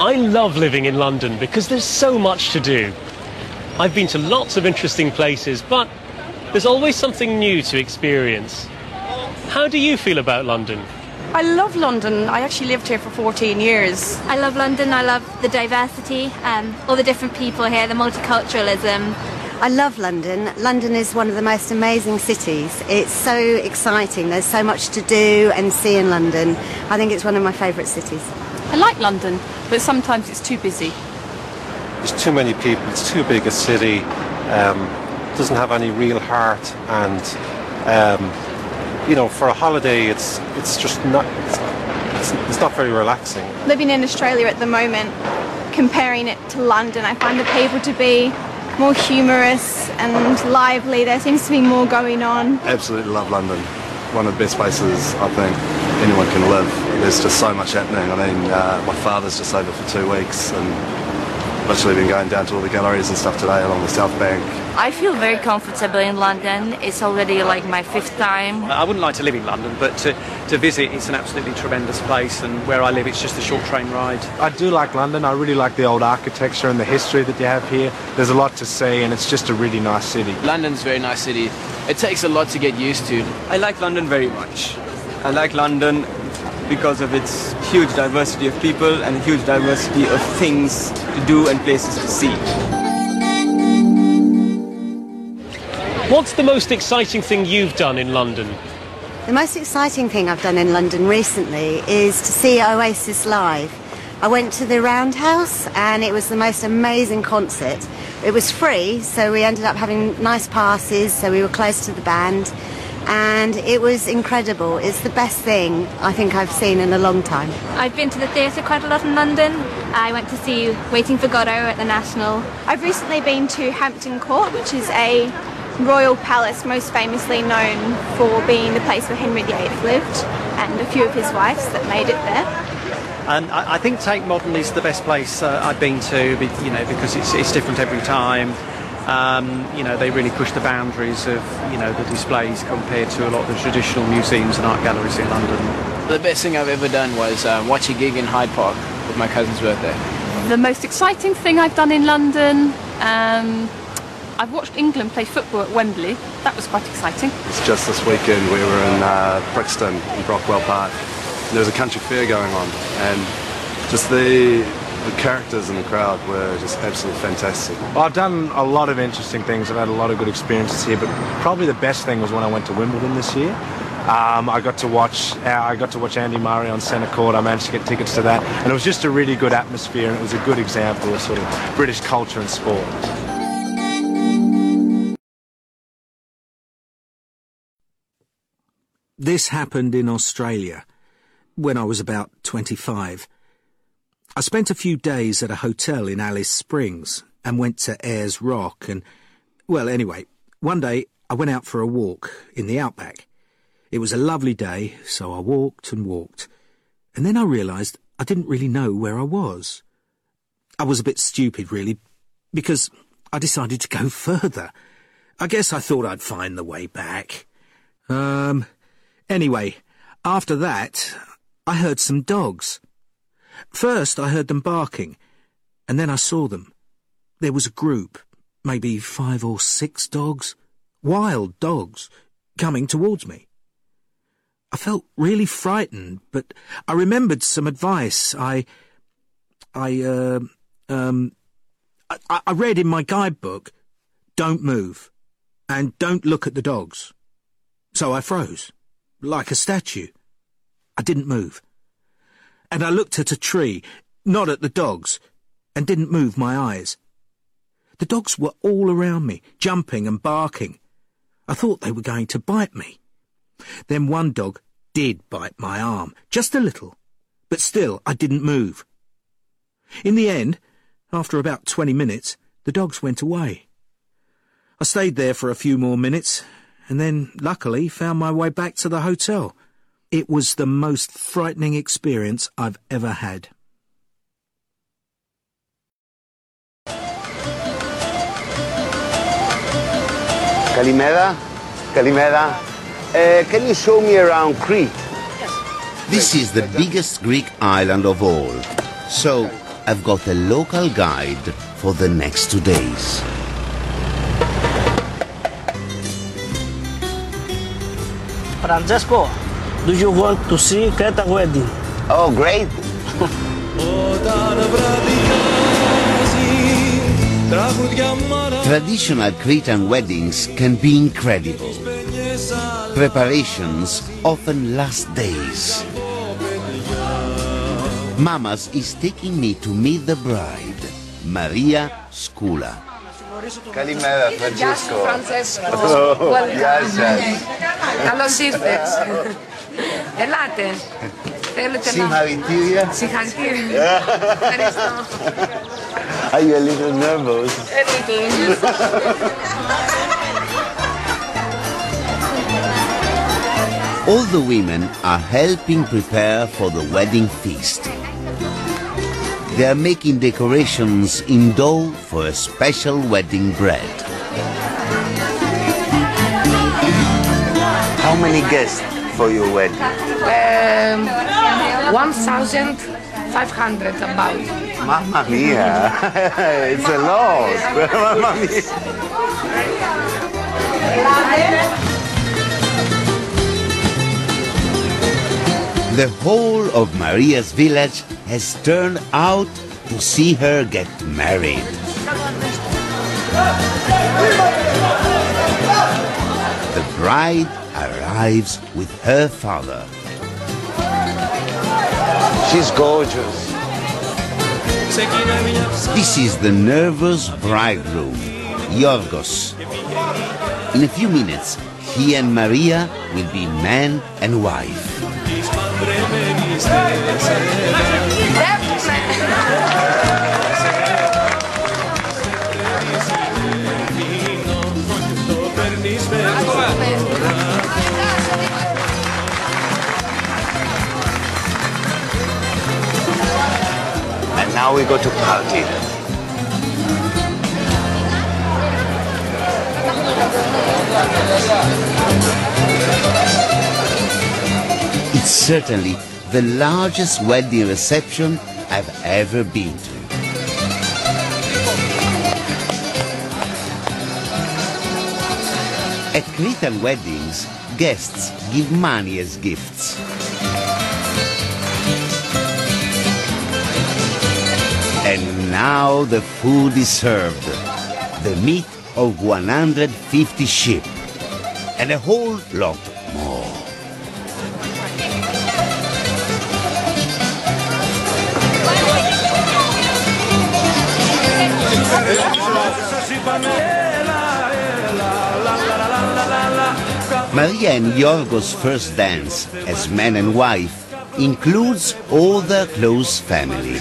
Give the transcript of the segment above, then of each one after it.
I love living in London because there's so much to do. I've been to lots of interesting places, but there's always something new to experience. How do you feel about London? I love London. I actually lived here for 14 years. I love London. I love the diversity, all the different people here, the multiculturalism. I love London. London is one of the most amazing cities. It's so exciting. There's so much to do and see in London. I think it's one of my favourite cities. I like London, but sometimes it's too busy. There's too many people, it's too big a city, doesn't have any real heart, and for a holiday it's just not, it's not very relaxing. Living in Australia at the moment, comparing it to London, I find the people to be more humorous and lively. There seems to be more going on. Absolutely love London. One of the best places I think anyone can live. There's just so much happening. I mean, my father's just over for 2 weeks and literally been going down to all the galleries and stuff today along the South Bank. I feel very comfortable in London. It's already like my 5th time. I wouldn't like to live in London, but to visit, it's an absolutely tremendous place, and where I live, it's just a short train ride. I do like London. I really like the old architecture and the history that you have here. There's a lot to see, and it's just a really nice city. London's a very nice city. It takes a lot to get used to. I like London very much. I like London because of its huge diversity of people and huge diversity of things to do and places to see. What's the most exciting thing you've done in London? The most exciting thing I've done in London recently is to see Oasis live. I went to the Roundhouse and it was the most amazing concert. It was free, so we ended up having nice passes, so we were close to the band. And it was incredible. It's the best thing I think I've seen in a long time. I've been to the theatre quite a lot in London. I went to see Waiting for Godot at the National. I've recently been to Hampton Court, which is a royal palace most famously known for being the place where Henry VIII lived, and a few of his wives that made it there. And I think Tate Modern is the best place I've been to, because it's different every time. They really push the boundaries of, the displays compared to a lot of the traditional museums and art galleries in London. The best thing I've ever done was watch a gig in Hyde Park with my cousin's birthday. The most exciting thing I've done in London, I've watched England play football at Wembley. That was quite exciting. It's just this weekend we were in Brixton in Brockwell Park. There was a country fair going on, and just the characters in the crowd were just absolutely fantastic. Well, I've done a lot of interesting things. I've had a lot of good experiences here, but probably the best thing was when I went to Wimbledon this year. I got to watch Andy Murray on centre court. I managed to get tickets to that, and it was just a really good atmosphere, and it was a good example of sort of British culture and sport. This happened in Australia when I was about 25. I spent a few days at a hotel in Alice Springs and went to Ayers Rock and, well, anyway, one day I went out for a walk in the outback. It was a lovely day, so I walked and walked, and then I realised I didn't really know where I was. I was a bit stupid, really, because I decided to go further. I guess I thought I'd find the way back. Anyway, after that, I heard some dogs. First, I heard them barking, and then I saw them. There was a group, maybe 5 or 6 dogs, wild dogs, coming towards me. I felt really frightened, but I remembered some advice I read in my guidebook, don't move, and don't look at the dogs. So I froze, like a statue. I didn't move. And I looked at a tree, not at the dogs, and didn't move my eyes. The dogs were all around me, jumping and barking. I thought they were going to bite me. Then one dog did bite my arm, just a little, but still I didn't move. In the end, after about 20 minutes, the dogs went away. I stayed there for a few more minutes, and then, luckily, found my way back to the hotel. It was the most frightening experience I've ever had. Kalimera? Kalimera? Can you show me around Crete? This is the biggest Greek island of all. So, I've got a local guide for the next 2 days. Francesco, do you want to see Creta wedding? Oh, great! Traditional Cretan weddings can be incredible. Preparations often last days. Mamas is taking me to meet the bride, Maria Skula. Καλημέρα, Francesco. Γεια σας. Καλώς ήρθες. Ελάτε. Θέλετε Συγχαρητήρια. Συγχαρητήρια. Ευχαριστώ. Are you a little nervous? All the women are helping prepare for the wedding feast. They are making decorations in dough for a special wedding bread. How many guests for your wedding? 1,500 about. Mamma mia! It's a lot! Mamma mia! The whole of Maria's village has turned out to see her get married. The bride arrives with her father. She's gorgeous. This is the nervous bridegroom, Yorgos. In a few minutes, he and Maria will be man and wife. And now we go to party. It's certainly the largest wedding reception I've ever been to. At Cretan weddings, guests give money as gifts. And now the food is served. The meat of 150 sheep. And a whole lot more. Maria and Yorgos' first dance as man and wife includes all their close family.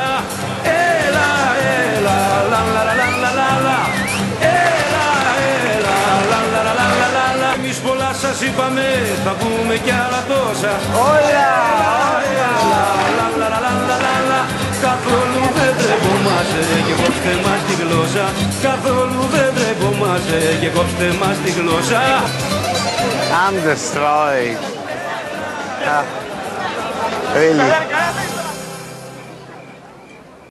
Καθόλου δεν τρεπόμαστε και κόψτε μας τη γλώσσα. Καθόλου δεν τρεπόμαστε και κόψτε μας τη γλώσσα. I'm destroyed. Really.